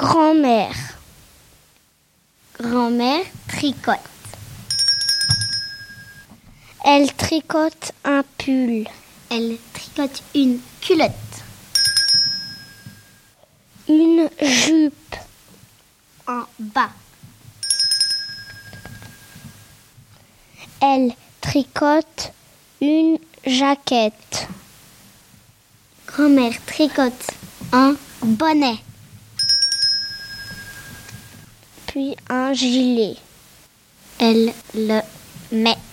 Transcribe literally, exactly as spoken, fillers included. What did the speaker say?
Grand-mère. Grand-mère tricote. Elle tricote un pull. Elle tricote une culotte. Une jupe. En bas. Elle tricote une jaquette. Grand-mère tricote un bonnet. Puis un gilet. Elle le met